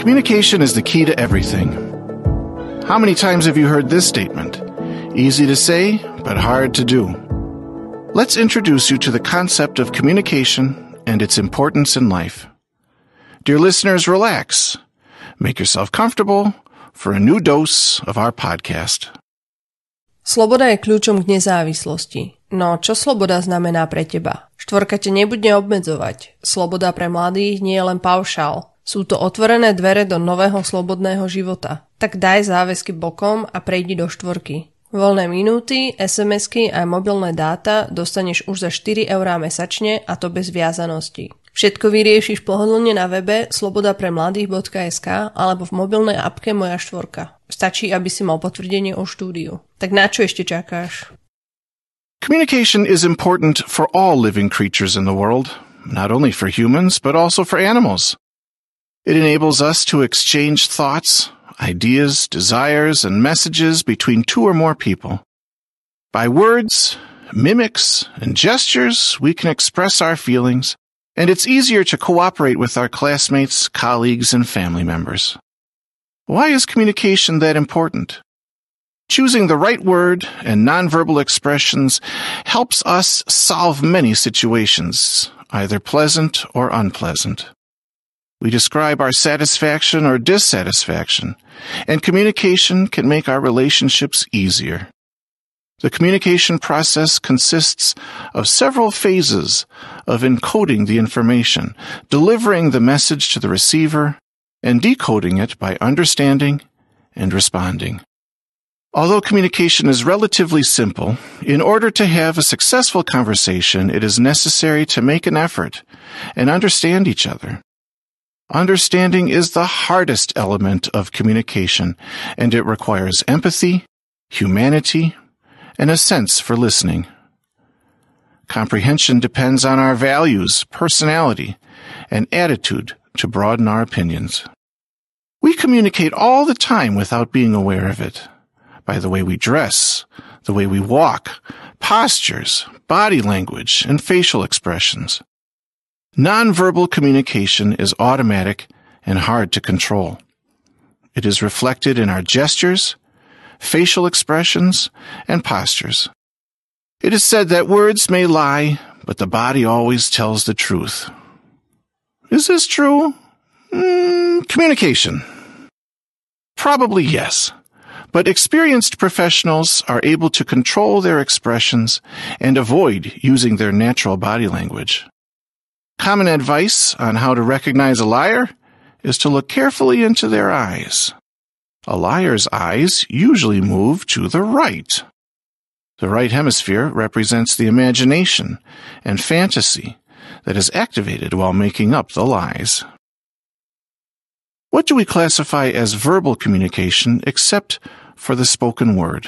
Communication is the key to everything. How many times have you heard this statement? Easy to say, but hard to do. Let's introduce you to the concept of communication and its importance in life. Dear listeners, relax. Make yourself comfortable for a new dose of our podcast. Sloboda je kľúčom k nezávislosti. No čo sloboda znamená pre teba? Štvorka ťa nebude obmedzovať. Sloboda pre mladých nie je len paušál. Sú to otvorené dvere do nového slobodného života. Tak daj záväzky bokom a prejdi do štvorky. Voľné minúty, SMS-ky a mobilné dáta dostaneš už za 4 € mesačne a to bez viazanosti. Všetko vyriešiš pohodlne na webe slobodapremladých.sk alebo v mobilnej appke Moja štvorka. Stačí, aby si mal potvrdenie o štúdiu. Tak na čo ešte čakáš? Communication is important for all living creatures in the world, not only for humans, but also for animals. It enables us to exchange thoughts, ideas, desires, and messages between two or more people. By words, mimics, and gestures, we can express our feelings, and it's easier to cooperate with our classmates, colleagues, and family members. Why is communication that important? Choosing the right word and nonverbal expressions helps us solve many situations, either pleasant or unpleasant. We describe our satisfaction or dissatisfaction, and communication can make our relationships easier. The communication process consists of several phases of encoding the information, delivering the message to the receiver, and decoding it by understanding and responding. Although communication is relatively simple, in order to have a successful conversation, it is necessary to make an effort and understand each other. Understanding is the hardest element of communication, and it requires empathy, humanity, and a sense for listening. Comprehension depends on our values, personality, and attitude to broaden our opinions. We communicate all the time without being aware of it, by the way we dress, the way we walk, postures, body language, and facial expressions. Nonverbal communication is automatic and hard to control. It is reflected in our gestures, facial expressions, and postures. It is said that words may lie, but the body always tells the truth. Is this true? Communication. Probably yes. But experienced professionals are able to control their expressions and avoid using their natural body language. Common advice on how to recognize a liar is to look carefully into their eyes. A liar's eyes usually move to the right. The right hemisphere represents the imagination and fantasy that is activated while making up the lies. What do we classify as verbal communication except for the spoken word?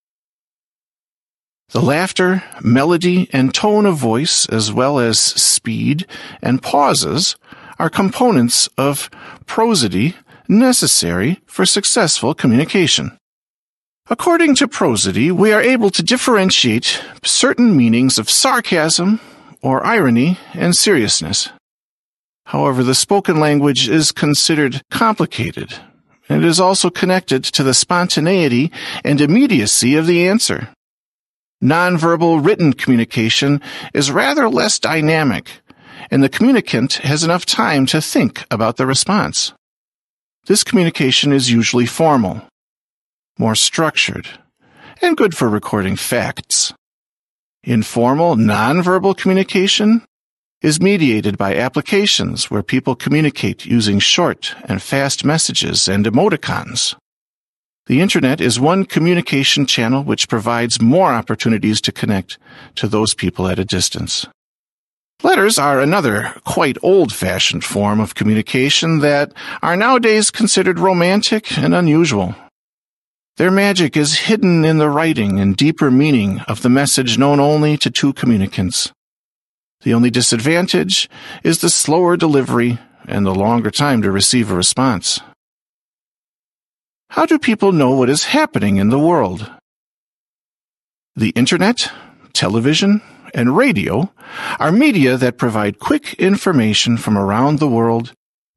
The laughter, melody, and tone of voice, as well as speed and pauses, are components of prosody necessary for successful communication. According to prosody, we are able to differentiate certain meanings of sarcasm or irony and seriousness. However, the spoken language is considered complicated, and it is also connected to the spontaneity and immediacy of the answer. Nonverbal written communication is rather less dynamic, and the communicant has enough time to think about the response. This communication is usually formal, more structured, and good for recording facts. Informal, nonverbal communication is mediated by applications where people communicate using short and fast messages and emoticons. The Internet is one communication channel which provides more opportunities to connect to those people at a distance. Letters are another quite old-fashioned form of communication that are nowadays considered romantic and unusual. Their magic is hidden in the writing and deeper meaning of the message known only to two communicants. The only disadvantage is the slower delivery and the longer time to receive a response. How do people know what is happening in the world? The Internet, television, and radio are media that provide quick information from around the world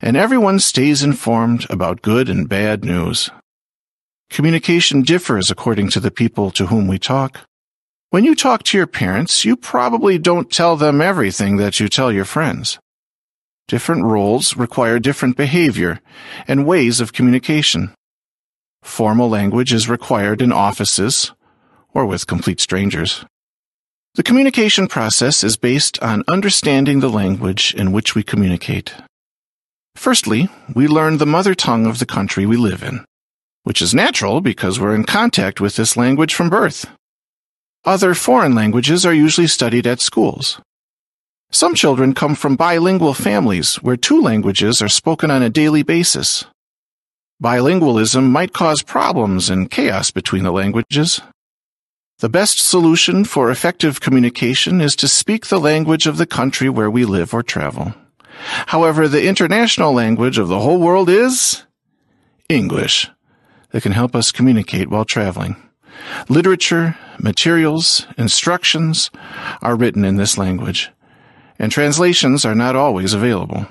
and everyone stays informed about good and bad news. Communication differs according to the people to whom we talk. When you talk to your parents, you probably don't tell them everything that you tell your friends. Different roles require different behavior and ways of communication. Formal language is required in offices or with complete strangers. The communication process is based on understanding the language in which we communicate. Firstly, we learn the mother tongue of the country we live in, which is natural because we're in contact with this language from birth. Other foreign languages are usually studied at schools. Some children come from bilingual families where two languages are spoken on a daily basis. Bilingualism might cause problems and chaos between the languages. The best solution for effective communication is to speak the language of the country where we live or travel. However, the international language of the whole world is English that can help us communicate while traveling. Literature, materials, instructions are written in this language, and translations are not always available.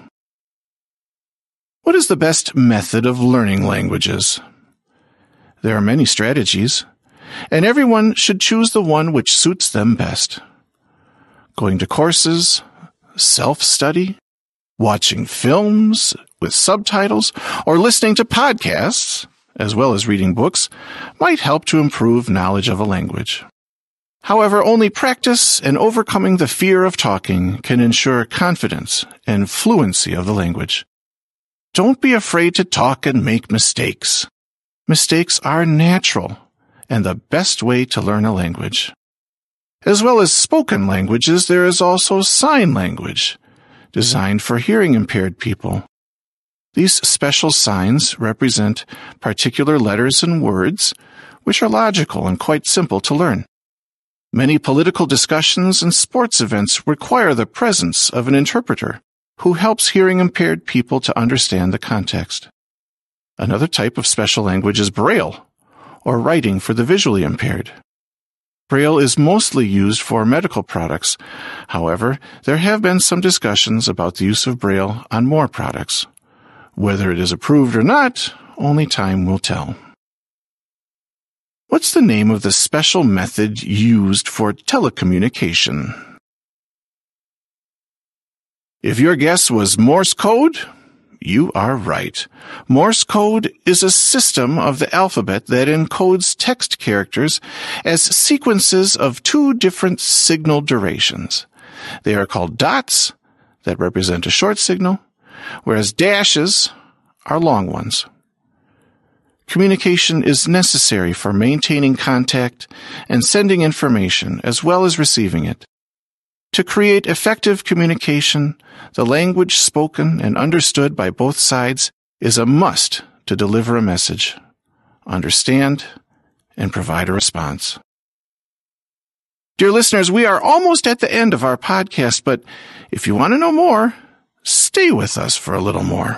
What is the best method of learning languages? There are many strategies, and everyone should choose the one which suits them best. Going to courses, self-study, watching films with subtitles, or listening to podcasts, as well as reading books, might help to improve knowledge of a language. However, only practice and overcoming the fear of talking can ensure confidence and fluency of the language. Don't be afraid to talk and make mistakes. Mistakes are natural and the best way to learn a language. As well as spoken languages, there is also sign language, designed for hearing-impaired people. These special signs represent particular letters and words, which are logical and quite simple to learn. Many political discussions and sports events require the presence of an interpreter who helps hearing-impaired people to understand the context. Another type of special language is Braille, or writing for the visually impaired. Braille is mostly used for medical products. However, there have been some discussions about the use of Braille on more products. Whether it is approved or not, only time will tell. What's the name of the special method used for telecommunication? If your guess was Morse code, you are right. Morse code is a system of the alphabet that encodes text characters as sequences of two different signal durations. They are called dots, that represent a short signal, whereas dashes are long ones. Communication is necessary for maintaining contact and sending information as well as receiving it. To create effective communication, the language spoken and understood by both sides is a must to deliver a message, understand, and provide a response. Dear listeners, we are almost at the end of our podcast, but if you want to know more, stay with us for a little more.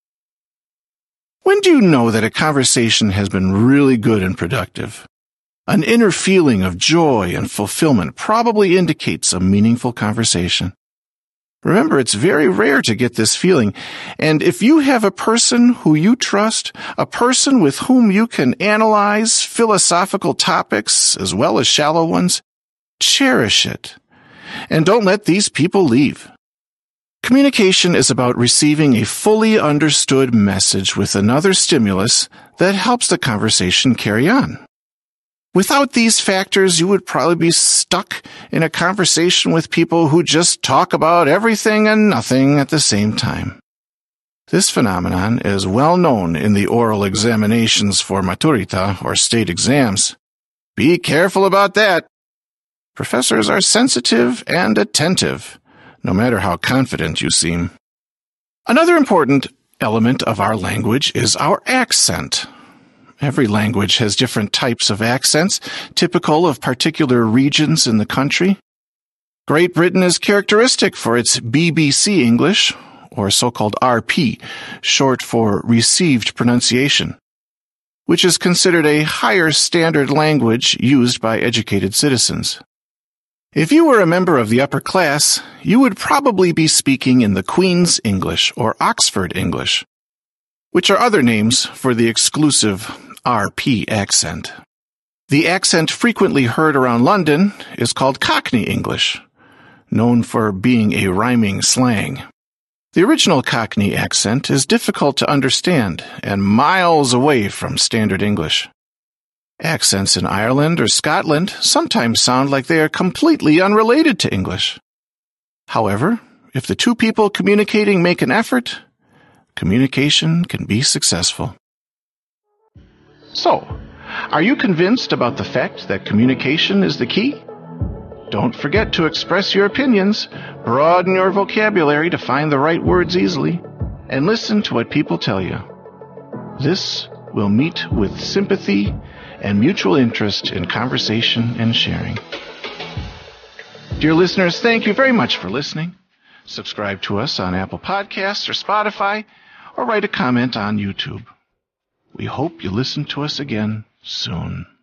When do you know that a conversation has been really good and productive? An inner feeling of joy and fulfillment probably indicates a meaningful conversation. Remember, it's very rare to get this feeling, and if you have a person who you trust, a person with whom you can analyze philosophical topics as well as shallow ones, cherish it, and don't let these people leave. Communication is about receiving a fully understood message with another stimulus that helps the conversation carry on. Without these factors, you would probably be stuck in a conversation with people who just talk about everything and nothing at the same time. This phenomenon is well known in the oral examinations for maturita or state exams. Be careful about that. Professors are sensitive and attentive, no matter how confident you seem. Another important element of our language is our accent. Every language has different types of accents, typical of particular regions in the country. Great Britain is characteristic for its BBC English, or so-called RP, short for Received Pronunciation, which is considered a higher standard language used by educated citizens. If you were a member of the upper class, you would probably be speaking in the Queen's English or Oxford English, which are other names for the exclusive RP accent. The accent frequently heard around London is called Cockney English, known for being a rhyming slang. The original Cockney accent is difficult to understand and miles away from standard English. Accents in Ireland or Scotland sometimes sound like they are completely unrelated to English. However, if the two people communicating make an effort, communication can be successful. So, are you convinced about the fact that communication is the key? Don't forget to express your opinions, broaden your vocabulary to find the right words easily, and listen to what people tell you. This will meet with sympathy and mutual interest in conversation and sharing. Dear listeners, thank you very much for listening. Subscribe to us on Apple Podcasts or Spotify, or write a comment on YouTube. We hope you listen to us again soon.